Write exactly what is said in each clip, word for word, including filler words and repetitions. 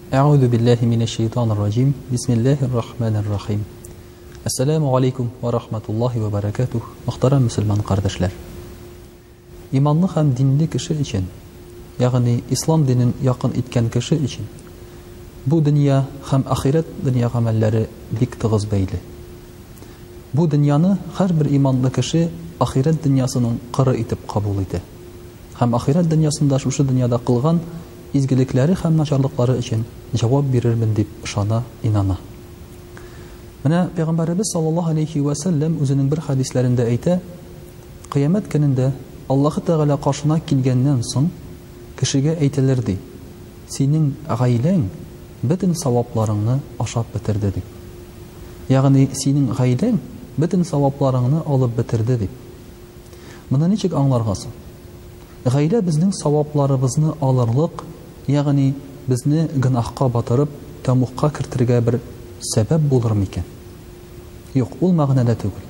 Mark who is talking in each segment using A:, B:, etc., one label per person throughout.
A: أعوذ بالله من الشيطان الرجيم بسم الله الرحمن الرحيم السلام عليكم ورحمة الله وبركاته محترم مسلمان قردشلر إيمانны һәм динле кеше өчен, ягъни ислам динен якын иткән кеше өчен бу дөнья һәм ахират дөнья гамәлләре бик тыгыз бәйле. Бу дөньяны һәрбер иманлы кеше ахират дөньясының кыры итеп кабул итә. Һәм ахират дөньясында шушы дөньяда кылган изгелекләре һәм начарлыклары өчен җавап бирермен дип ышана, инана. Менә Пәйгамбәрбез саллаллаһу алейхи ва саллям үзенең бер хадисләрендә әйтә, кыямәт көнендә Аллаһы Тәгалә каршына килгәннән соң кешегә әйтелер ди: "Синең гаиләң бөтен савапларыңны ашап бетерде" дип. Ягъни синең гаиләң бөтен савапларыңны алып бетерде дип. Моны ничек аңларга соң? Гаилә безнең савапларыбызны алырлык, ягъни безне гынахка батырып, тамукка кертергә бер сәбәп булыр микән? Юк, ул мәгънәдә түгел.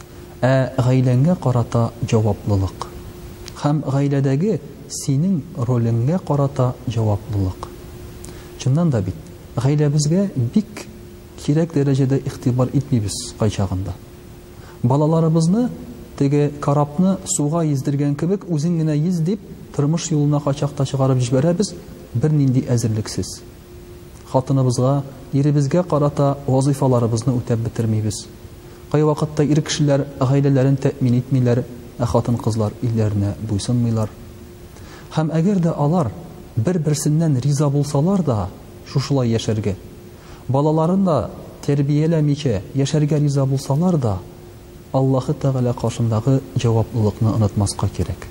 A: Ә гаиләңгә карата җаваплылык һәм гаиләдәге синең ролеңгә карата җаваплылык. Чыннан да бит, гаиләбезгә бик кирәк дәрәҗәдә игътибар итмибез кайчагында. Балаларыбызны теге карапны суга ездергән кебек үзең генә йөз дип тормыш юлына качакта чыгарып җибәрәбез, бер нинди әзерлексез. Хатыныбызга, иребезгә карата вазифаларыбызны үтәп бетермибез. Кай вакытта ир кешеләр гаиләләрен тәэмин итмиләр, ә хатын-кызлар илләренә буйсынмыйлар. Һәм әгәр дә алар бер-берсеннән риза булсалар да, шушылай яшәргә, балаларын да тәрбияләмичә яшәргә риза булсалар да, Аллаһы Тәгалә каршындагы җаваплылыкны онытмаска кирәк.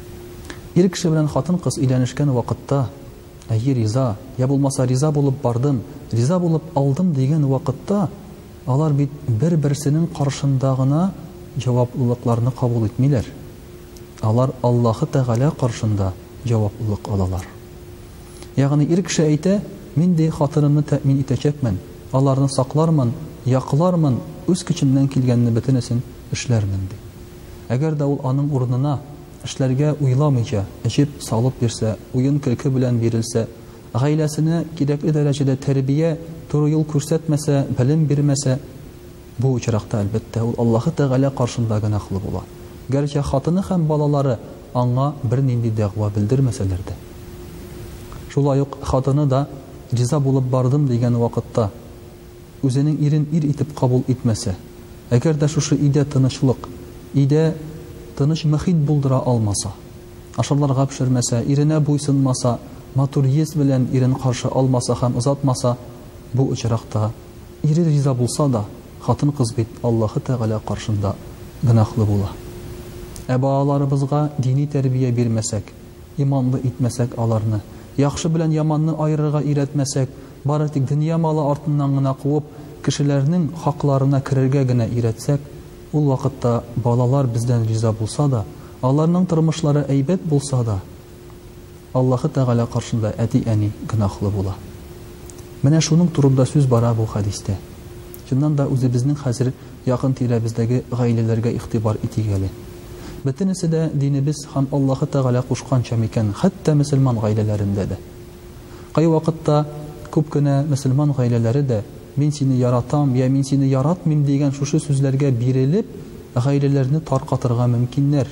A: Ир кеше белән хатын-кыз өйләнешкән вакытта, әйе риза, я булмаса риза булып бардым, риза булып алдым дигән вакытта, алар бит бер-берсенең каршында гына җаваплылыкларны кабул итмиләр. Алар Аллаһы Тәгалә каршында җаваплылык алалар. Ягъни ир кеше әйтә: "Мин дә хатынымны тәэмин итәчәкмен, аларны саклармын, яклармын, үз көчемнән килгәнне бөтенесен эшләрмен" ди. Әгәр дә ул аның урынына эшләргә уйламыйча, эчеп салып бирсә, уен көлке белән бирелсә, гаиләсенә кирәкле дәрәҗәдә тәрбия, туры юл күрсәтмәсә, белем бирмәсә, бу очракта әлбәттә ул Аллаһы Тәгалә каршында гөнаһлы була. Гәрчә хатыны һәм балалары аңа бер нинди дәгъва белдермәсәләр дә. Шулай ук хатыны да риза булып бардым дигән вакытта үзенең ирен ир итеп кабул итмәсә, әгәр дә шушы идә тынычлык, идә тыныч мөхит булдыра алмаса, ашарларга пешермәсә, иренә буйсынмаса, матур йөз белән ирен каршы алмаса һәм озатмаса, бу очракта ире риза булса да, хатын-кыз бит Аллаһы Тәгалә каршында гөнаһлы була. Ә балаларыбызга дини тәрбия бирмәсәк, иманлы итмәсәк аларны, яхшы белән яманны айырырга өйрәтмәсәк, бары тик дөнья малы артыннан гына куып, кешеләрнең хакларына керергә генә өйрәтсәк, ул вакытта балалар бездән риза булса да, аларның тормышлары әйбәт булса да, Аллаһы Тәгалә каршында әти-әни гөнаһлы була. Менә шуның турында сүз бара бу хадистә. Чыннан да үзебезнең хәзер якын тирәбездәге гаиләләргә игътибар итик әле. Бөтенесе дә динебез һәм Аллаһы Тәгалә кушканча микән, хәтта мөселман гаиләләрендә дә. Кай вакытта күп кенә мөселман гаиләләре дә мин сине яратам, я мин сине яратмыйм дигән шушы сүзләргә бирелеп, гаиләләрне таркатырга мөмкиннәр.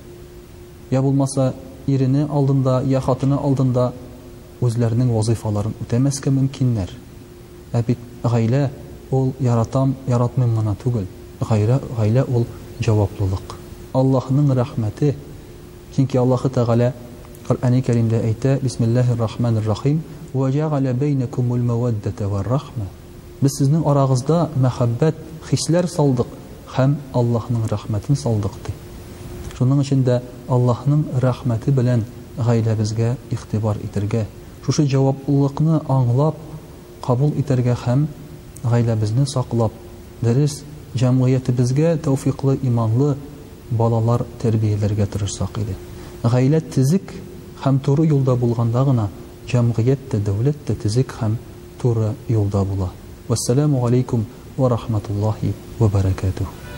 A: Я булмаса ирене алдында, я хатыны алдында үзләренең вазифаларын үтәмәскә мөмкиннәр. Ә бит гаилә ул яратам, яратмыйм гына түгел. Гаилә, гаилә ул җаваплылык. Аллаһның рәхмәте. Чөнки Аллаһы Тәгалә Коръәни Кәримдә әйтә: "Бисмиллаһир-рахманир-рахим, ва җа'ала бәйнәкумул маваддата вар-рахма." Без сезнең арагызда мәхәббәт, хисләр салдык һәм Аллаһның рәхмәтен салдык ди. Шуның өчен дә Аллаһның рәхмәте белән гаиләбезгә игътибар итәргә, шушы җаваплылыкны аңлап, кабул итәргә һәм гаиләбезне саклап, дөрес җәмгыятебезгә тәүфиклы, иманлы балалар тәрбияләргә тырышсак иде. Гаилә тизик һәм туры юлда булганда гына җәмгыять тә, дәүләт тә тизик һәм туры юлда була. Вассаламу алейкум ва рахматуллаһи ва баракатуһ.